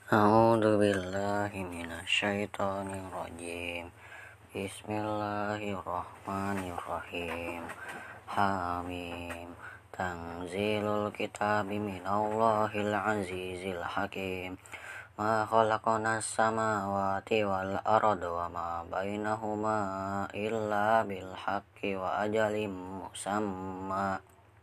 A'udzu billahi minasyaitonir rajim. Bismillahirrahmanirrahim. Hamim. Tanzilul kitabi minallahil azizil hakim. Ma khalaqanas samawati wal arda wa ma bainahuma illa bil haqqi wa ajalim musamma.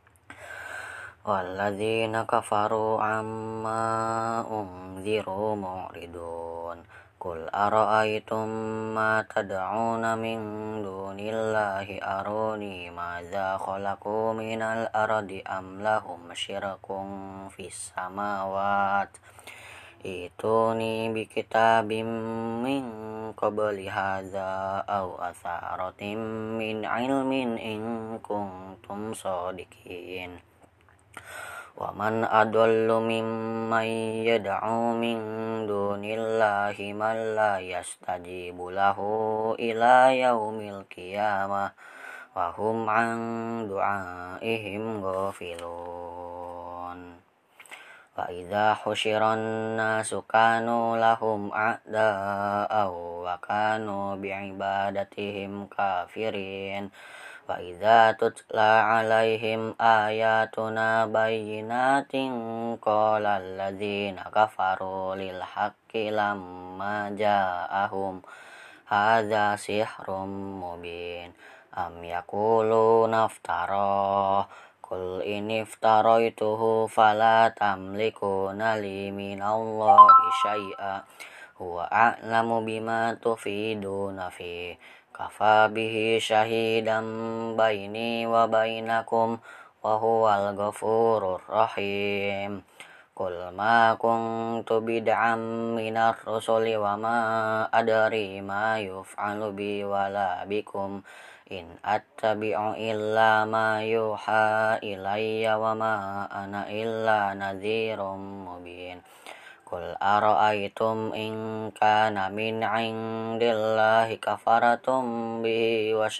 Walladzina kafaru amma unziru mu'ridun. Qul ara'aytum ma tad'una min dunillahi aruni madza khalaqu minal ardi am lahum syirkun fis samawat. Ituni bi kitabim min qabli hadza aw atharatin min ilmin in kuntum shadiqin. Wa man adallu mimman yad'u min dunillahi man la yastajibu lahu ila yaumil qiyamah wa hum an du'aihim ghafilun. Wa idza husyiran nasu kanu lahum a'da'a wa kanu bi'ibadatihim kafirin. Wa idza tutla 'alaihim ayatuna bayyinatin qala alladzina kafaru lil haqqi lamma ja'ahum hadza sihrun mubin. Am yaquluna iftara qul in iftaraituhu fala tamlikuna li minallahi syai'a huwa a'lamu bima tufiduna fi kafa bihi syahidan baini wa bainakum wa huwal ghafurur rahim. Qul ma kuntu bid'am minar rusuli wa ma adri ma yuf'alu bi wala bikum in attabi'u illa ma yuha ilayya wa ma ana illa nadhirum mubin. Qul ara'aytum in kana min 'indillahi kafaratum bihi wa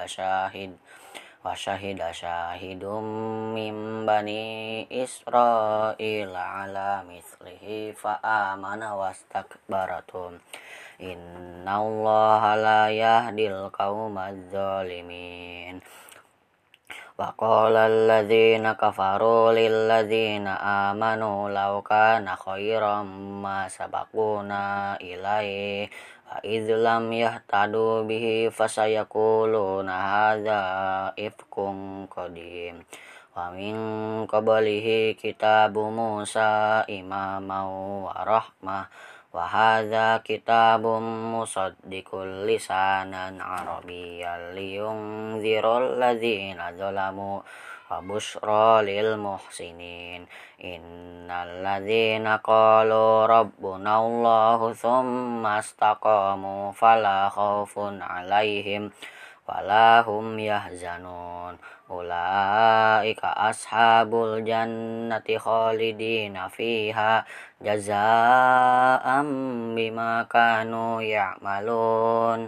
syahida syahidum min bani Israila ala mislihi fa amana wastakbaratum. Innallaha la yahdil qaumadz zalimin. Wa qala alladzina kafaru lil ladzina amanu law kana khairam ma sabaquna ilaihi wa idz lam yahtadu bihi fasayaquluna hadza ifkun qadim. Wa min qablihi kitabu Musa imaman wa rahmah wa hadza kitabun musaddiqul lisanan arabiyyan liyunzirul ladzina zalamu wa busyra lil muhsinin. Innal ladzina qalu rabbunallahu tsumma istaqamu fala khaufun 'alaihim wala hum yahzanun. Ulaika ashabul jannati khalidina fiha jazaa'an bima kanu ya'malun.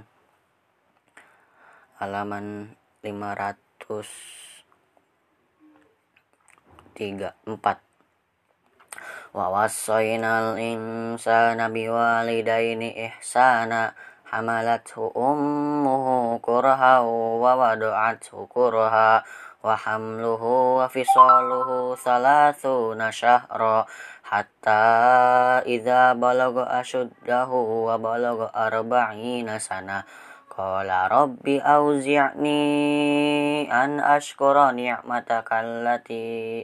Halaman 534. Wa wassaynal insana biwalidaini ihsana hamalathu ummuhu kurha wa wada'athu kurha wa hamluhu wa fisaluhu thalathuna syahra hatta idza balagha ashuddahu wa balagha arba'ina sana qala rabbi auzi'ni an ashkura ni'mataka allati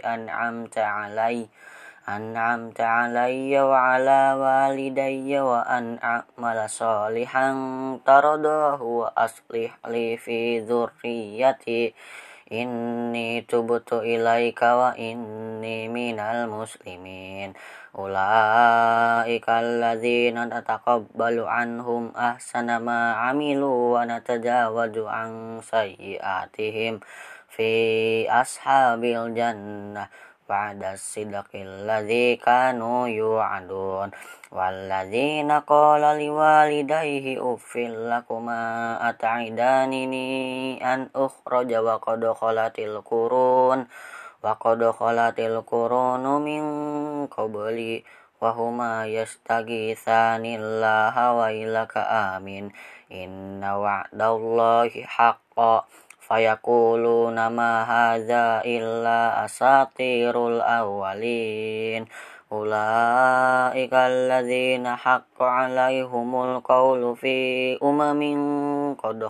an'amta 'alayya wa 'ala walidayya wa an a'mala shalihan taradahu wa aslih li fi dzurriyyati inni tubtu ilaika wa inni minal muslimin. Ulaika alladzina nataqabbalu anhum ahsana ma 'amilu wa natajawadu an sayyi'atihim fi ashabil jannah ba'da sidqil ladzi kanu yu'adun. Walladzina qala liwalidayhi uffil lakuma at'idanini an ukhraja wa qad khalatil qurunu min qabli وهما يستغيثان الله ويلك آمين إن وعد الله حق فيقولون ما هذا إلا أساطير الأولين أولئك الذين حق عليهم القول في قد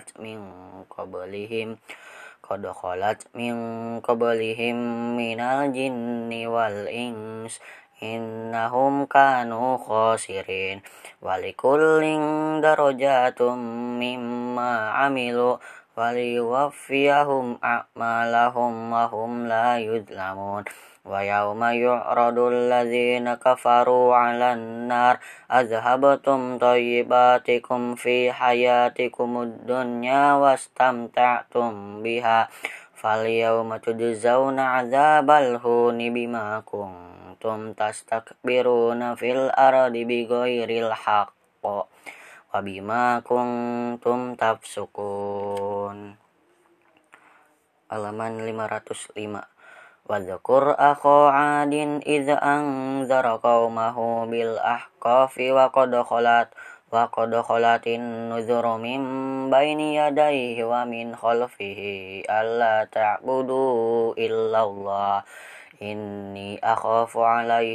خلت من قبلهم من الجن والإنس إنهم كانوا خاسرين ولكل درجات مما عملوا وليوفيهم أعمالهم وهم لا يظلمون ويوم يعرض الذين كفروا على النار أذهبتم طيباتكم في حياتكم الدنيا واستمتعتم بها فاليوم تجزون عذاب الهون بما كنتم تستكبرون في الأرض بغير الحق وبما كنتم تفسقون. Halaman 505. Wadzakur akha 'adin idh anzara qaumahu bil ahqafi wa qad khalatin nuzuru min baini yadayhi wa min khalfihi alla ta'budu illallah inni akhafu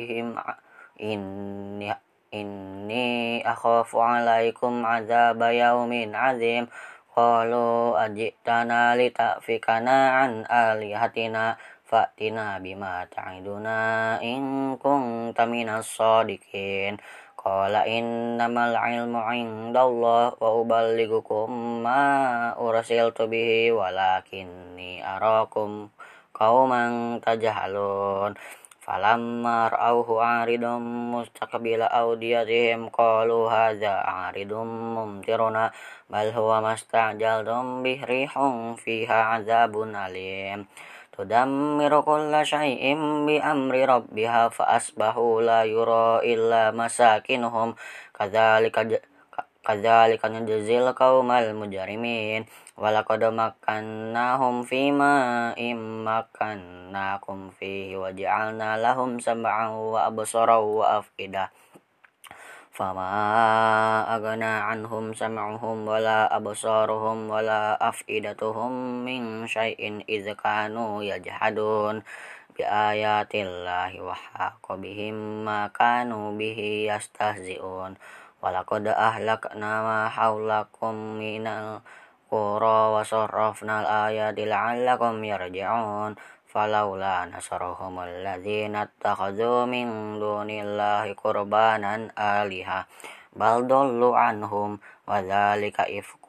'alaikum 'adzaba yaumin 'adzim qalu ajitana lita'fikana an alihatina fa'tina bima ta'iduna in kunta minas shadiqin qala innamal ilmu 'indallah wa uballighukum ma ursiltu bihi walakinni arakum qauman tajhalun falamma ra'awhu 'aridum mustaqbila awdiyatihim qalu hadza 'aridum mumtiruna bal huwa mastajaltum bih rihum fiha 'adzabun alim tudammiru kulla syai'in bi amri rabbiha fa asbahu la yura illa masakinuhum kadzalika najzil qaumal mujrimin walaqad makkannahum fima immakkannakum fihi wa ja'alna lahum sam'an wa absaran wa afidah fama aghna anhum sam'uhum wala absaruhum wala afidatuhum min syai'in idz kanu yajhadun bi ayatillahi wa haqa bihim ma kanu bihi yastahzi'un walaqad ahlakna ma haulakum minal qura wa sarrafnal ayati la'allakum yarji'un falaula nasarahum alladzina ittakhadhu min dunillahi qurbanan aliha bal dallu anhum wa dzalika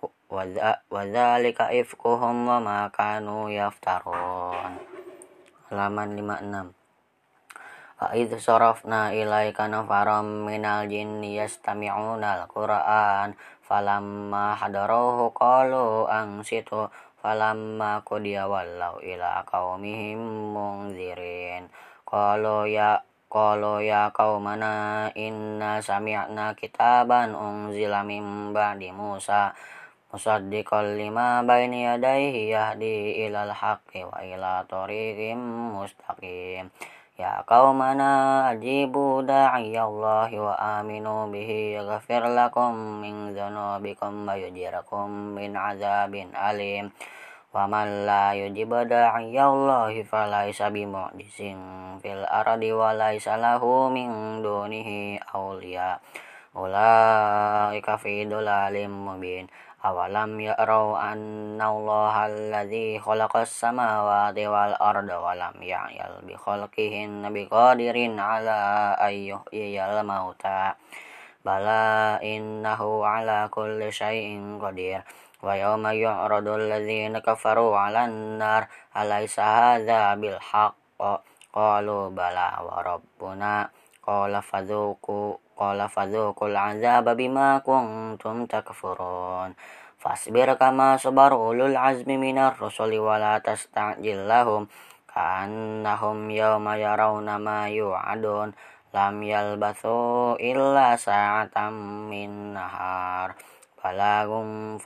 ifkuhum wa ma kanu yaftarun. Halaman 56. Wa idz sarafna ilaika nafaram minal jinni yastami'una al-qur'an falamma hadaruhu qalu ansitu falamma qudiya wallaw ila qaumihim munzirin qalu ya qaumana inna sami'na kitaban unzila min ba'di Musa musaddiqan lima baini yadayhi yahdi ilal haqqi wa ila thoriqim mustaqim ya qaumana ajibu da'iyallahi wa aminu bihi yaghfir lakum min dzunubikum wa yujirkum min azabin alim wa man la yujib da'iyallahi falaysa bimu'jizin fil ardi wa laysa lahu min dunihi awliya ulaika fi dhalalim mubin awalam ya'raw annallaha alladzi khalaqas samawati wal arda wa lam ya'yal bi khalqihin biqadirin ala ayyuhyiyal mauta bala innahu ala kulli syai'in qadir wa yawma yu'radu alladzina kafaru 'alan nar alaysa hadza bil haqq qalu bala wa rabbuna qala fadzuqul 'adzaba bima kuntum takfurun fasbir kama sabar ulul azmi minar rusuli wa la tasta'jil lahum ka'annahum yawma yarawna ma yu'adun lam yalbathu illa sa'atan min nahar balagun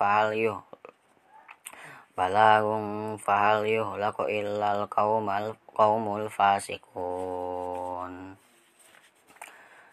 fahal yuhlaku illal qaumul fasikun.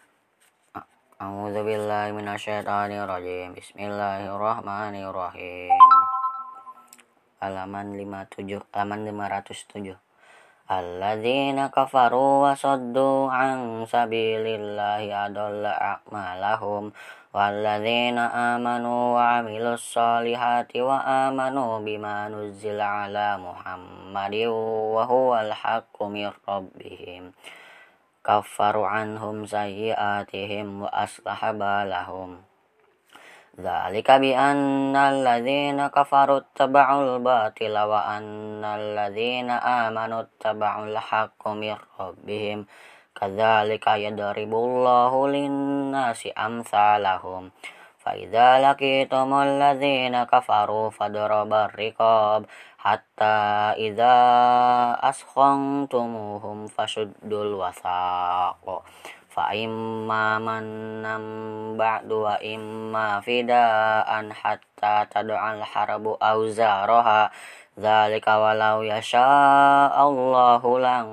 A'udzubillahi minasyaitonirrajim. Bismillahirrahmanirrahim. Halaman 507. Alladzina kafaru wa saddu an sabilillahi adalla a'malahum walladzina amanu wa amilus solihati wa amanu bima nuzzila ala Muhammadin wa huwal haqqu mir rabbihim kaffaru anhum sayyi'atihim wa aslaha balahum. Dzalika bi annal ladzina kafaru taba'ul batila wa annal ladzina amanu taba'ul haqqu mir rabbihim. Kadzalika yadribullahu lin-nasi amsalahum. Fa idza laqitumul ladzina kafaru fadrabar riqab hatta idza askhantumuhum fashuddul wasaq fa imma manam ba'du wa imma fidaan hatta tad'al harbu auzaraha dzalika walau yasha Allahu lang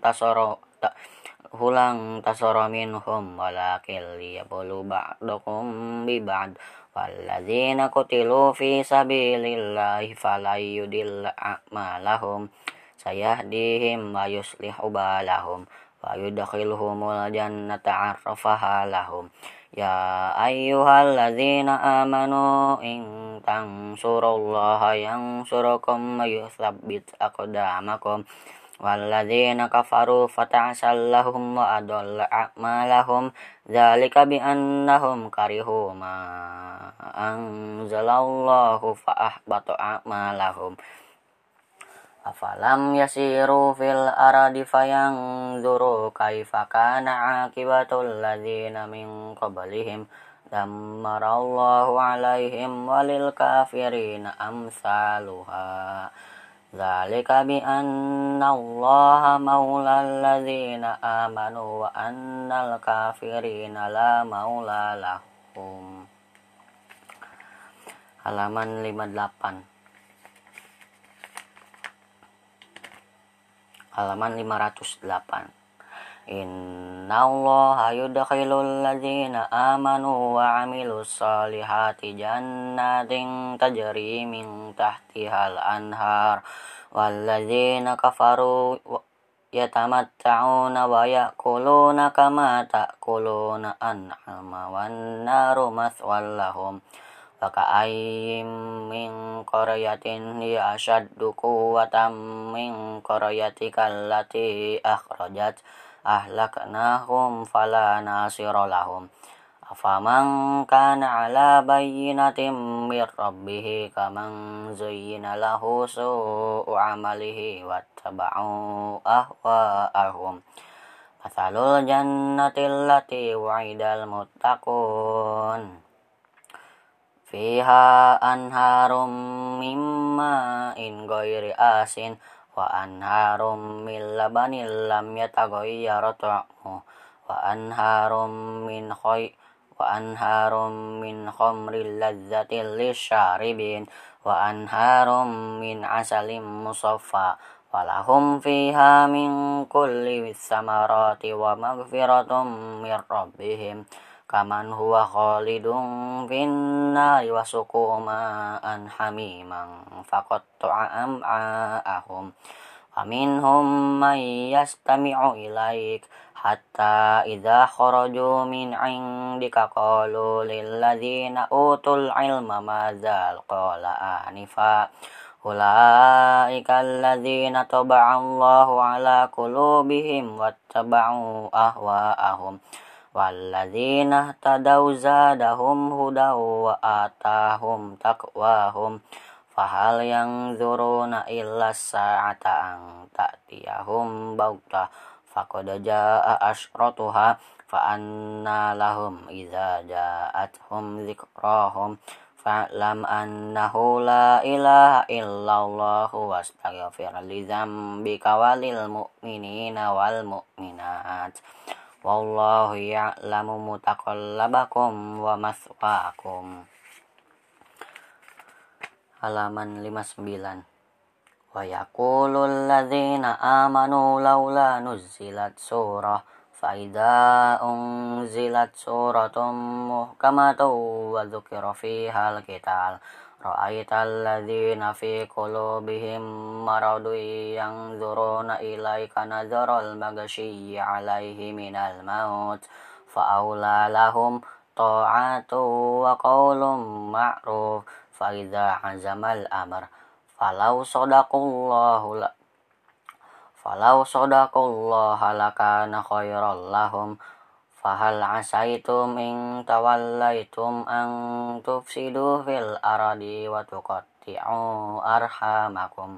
tasara minhum walakin liyablu ba'dakum bi ba'd walladzina qutilu fi sabilillahi falayudilla a'malahum sayahdihim wa yuslihu balahum wa yudkhiluhumul jannata 'arrafaha lahum. Ya ayyuhalladzina amanu in tansurullaha yansurukum wa yutsabbit aqdamakum walladzina kafaru fata'sal lahum wa adalla a'malahum dzalika bi annahum karihu ma anzalallahu fa ahbata a'malahum. Afalam yasiru fil ardi fayanzuru kaifa kana aqibatul ladzina min qablihim dammarallahu alaihim walil kafirina amsaluha. Dzalika bi annallaha maulal ladzina amanu wa annal kafirina la maula lahum. Halaman 58. Halaman 508. Innallaha yudkhilul ladzina amanu wa amilus solihati jannatin tajri min tahtihal anhar walladzina kafaru yatamatta'una wa ya'kuluna kama ta'kuluna an'ama wan naru maswal lahum. Wa ka'ayyim min qaryatin hiya ashaddu quwwatan min qaryatika allati akhrajat ahlaknahum fala nasira lahum. Afaman kana ala bayyinatin mir rabbih kaman zuyyina lahu su'u amalihi wattaba'u ahwa'ahum. Mathalul jannati allati wa'idal muttaqun fiha anharum mimma in ghairi asin wa anharum min labanin lam yataghayyar ta'muhu wa anharum min khamril lazzatil lisyaribin wa anharum min asalim musaffa walahum fiha min kulli samarati wa maghfiratum mir rabbihim kaman huwa khalidun finnari wa suqu ma'an hamiman faqatta'a am'a'ahum wa minhum man yastami'u ilaik hatta idza kharaju min 'indika qalu lil ladzina utul ilma madzal qala anifa ulaika alladzina taba'allahu ala qulubihim wattaba'u ahwa'ahum walladzina tadaw zadahum hudaw wa atahum taqwahum fahal yanzuruna illa sa'ata an ta'tiyahum baghtah faqad jaa'a asyratuha fa anna lahum idza ja'atuhum dzikrahum fa'lam annahu la ilaha illallah wastaghfir li dzambika walil mu'minina wal mu'minat. Wallahu ya'lamu mutaqallabakum wa maswaakum. Halaman 59. Wa yaqulul ladzina amanu laula nuzzilat surah فإذا أنزلت سورة محكمة وذكر فيها القتال رأيت الذين في قلوبهم مرض ينظرون إليك نظر المغشي عليه من الموت فأولى لهم طاعة وقول معروف فإذا عزم الأمر فلو صدقوا الله لكان خيرا لهم فهل عسيتم إن توليتم أن تفسدوا في الأرض وتقطعوا أرحامكم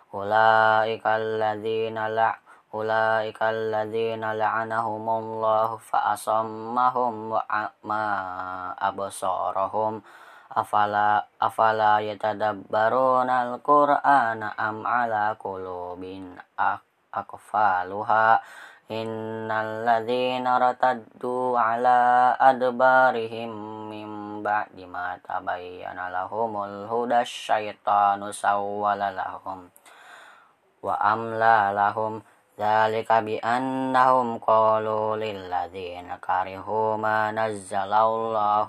أولئك الذين لعنهم الله فأصمهم وأعمى أبصارهم أفلا يتدبرون القرآن أم على قلوب أقفالها إن الذين ارتدوا على أدبارهم من بعد ما تبين لهم الهدى الشيطان سول لهم وأملى لهم ذلك بأنهم قالوا للذين كرهوا ما نزل الله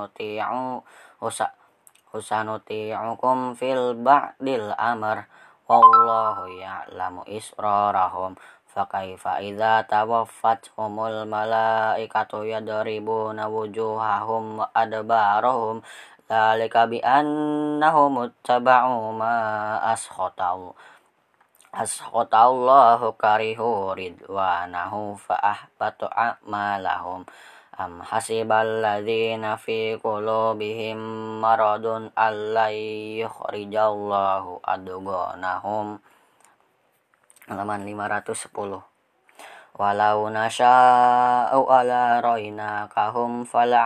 سنطيعكم في البعد الأمر والله يعلم إسرارهم فكيف إذا توفتهم الملائكة يضربون وجوههم وأدبارهم ذلك بأنهم اتبعوا ما أسخط الله كرهوا رضوانه فأحبط أعمالهم أم حسب الذين في قلوبهم مرض أن لن يخرج الله أضغانهم. Halaman 510. Walau nasya'u ala rainakahum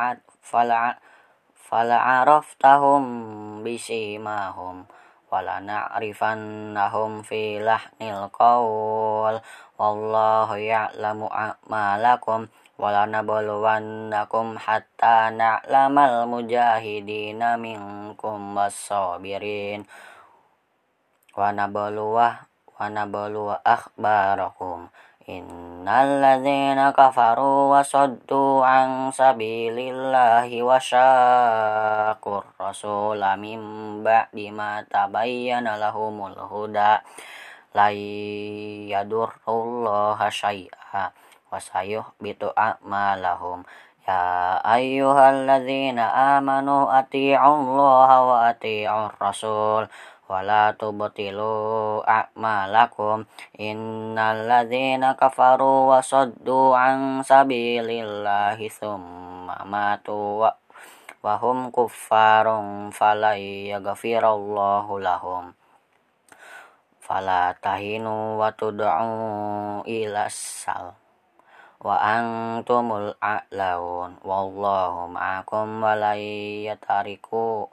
fala'araftahum bisimahum walana'rifannahum fi lahnil qawl wallahu ya'lamu a'malakum walanabluwannakum hatta na'lamal mujahidina minkum was-sabirin wa nabluwa akhbarakum innal ladzina kafaru wa saddu an sabilillahi wa syaqur rasula min ba'di ma tabayyana lahumul huda la yadurrullaha syai'a wa sayuhbitu a'malahum ya ayyuhalladzina amanu ati'ullaha wa ati'ur rasul wala tubtilu a'malakum innal ladzina kafaru wa saddu an sabilillahi tsumma matu wa hum kuffarun fala yaghfirallahu lahum fala tahinu wa tud'u ila sal wa antumul a'laun wallahu ma'akum wa la yatariku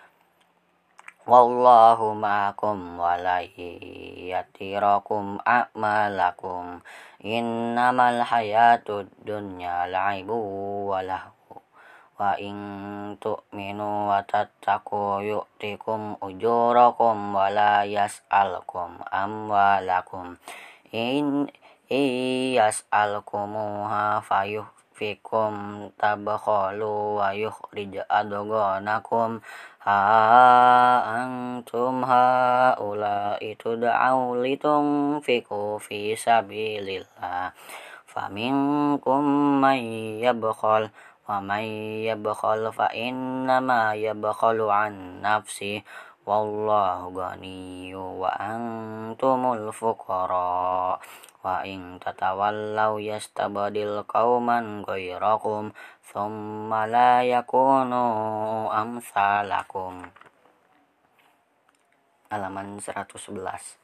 wallahu ma'akum wa la yatirakum a'malakum innamal hayatud dunya la'ibu wa lahu wa in tu'minu wa tattaqu yu'tikum ujurakum wa la yas'alkum amwalakum in yas'alkumuha fayuhfikum tabkhalu wa yukhrij adghanakum ha antum haula'i tud'au litunfiqu fi sabilillah faminkum man yabkhal wa man yabkhal fa innama yabkhalu an nafsi wallahu ghaniyyu wa antumul fuqara wa in tatawallaw yastabdil qauman ghairakum thumma la yakunu amsalakum. Halaman 111.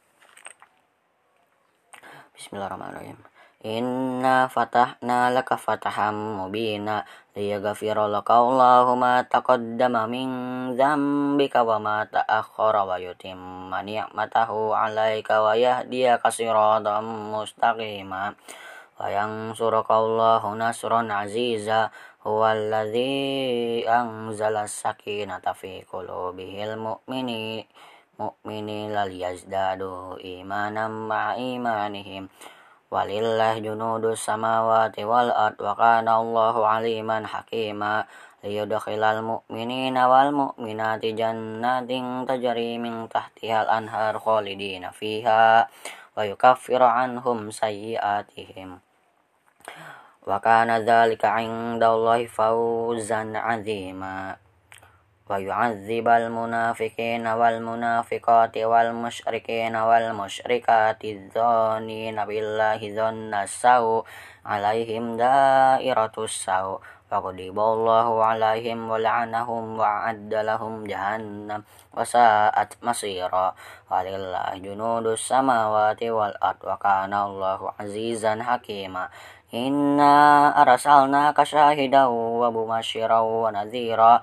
Bismillahirrahmanirrahim. Inna fatahna laka fataham mubina liyaghfira laka Allahu ma taqaddama min dzambika wa ma ta'akhkhara wa yutimma ni'matahu 'alaika wa yahdiyaka siratan mustaqima wa yansuraka Allahu nasran 'aziza huwallazi anzala as-sakinata fi qulubihil mu'minina liyazdadu imanan ma'a imanihim Walillah junudus samawati wal ard wa kana Allahu aliman hakima. Liyudkhilal mu'minina wal mu'minati jannatin tajri min tahtihal anhar khalidina fiha wa yukaffiru anhum sayyi'atihim. Wa kana dzalika 'indallahi fawzan 'azima. Wa yu'adzibal munafiqina wal munafiqati wal musyrikina wal musyrikati dzannina billahi dzanna sau 'alaihim dairatus sau wa ghadiballahu 'alaihim wa la'anahum wa 'adda lahum jahannam wa sa'at masira. Walillahi junudus samawati wal ard wa kana Allahu 'azizan hakima. Inna arsalnaka syahidan wa mubasysyiran wa nadhira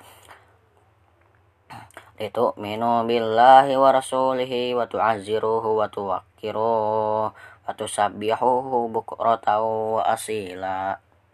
litu'minu billahi wa rasulihi wa tu'azziruhu wa tuwaqqiruhu wa tusabbihuhu bukratan wa asila.